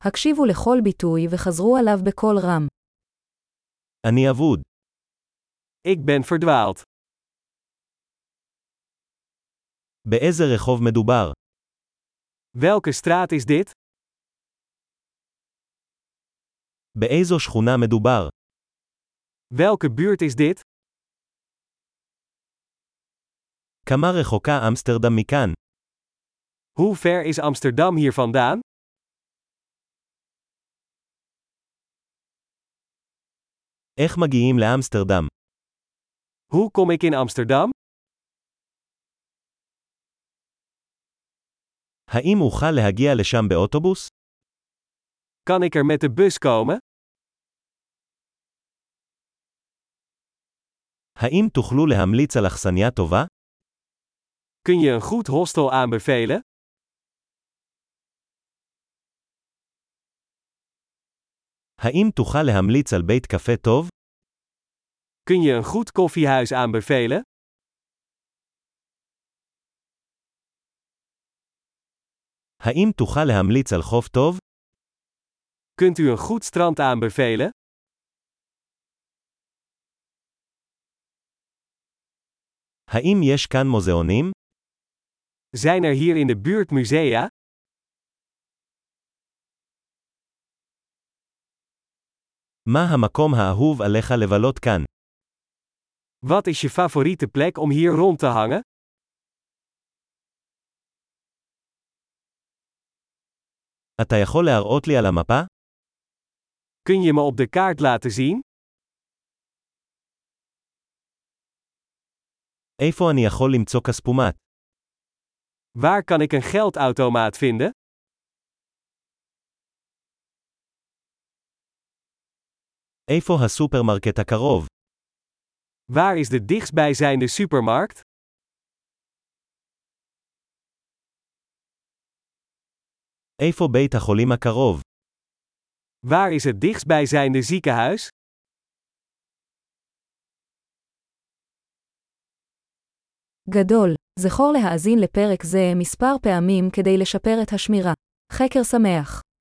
הקשיבו לכל ביטוי וחזרו עליו בקול רם. אני אבוד. Ik ben verdwaald. באיזה רחוב מדובר? Welke straat is dit? באיזו שכונה מדובר? Welke buurt is dit? כמה רחוקה אמסטרדם מכאן? Hoe ver is Amsterdam hier vandaan? איך מגיעים לאמסטרדם? Hoe kom ik in Amsterdam? האם אוכל להגיע לשם באוטובוס? Kan ik er met de bus komen? האם תוכלו להמליץ על אכסניה טובה? Kun je een goed hostel aanbevelen? האם תוכל להמליץ על בית קפה טוב? Kun je een goed koffiehuis aanbevelen? האם תוכל להמליץ על חוף טוב? Kunt u een goed strand aanbevelen? האם יש כאן מוזיאונים? Zijn er hier in de buurt musea? מה המקום האהוב עליך לבלות כאן? Wat is je favoriete plek om hier rond te hangen? אתה יכול להראות לי על המפה? Kun je me op de kaart laten zien? איפה אני יכול למצוא כספומט? Waar kan ik een geldautomaat vinden? איפה הסופרמרקט הקרוב? Waar is de dichtstbijzijnde supermarkt? איפה בית החולים הקרוב? Waar is het dichtstbijzijnde ziekenhuis? גדול, זכור להאזין לפרק זה מספר פעמים כדי לשפר את השמירה. חקר שמח.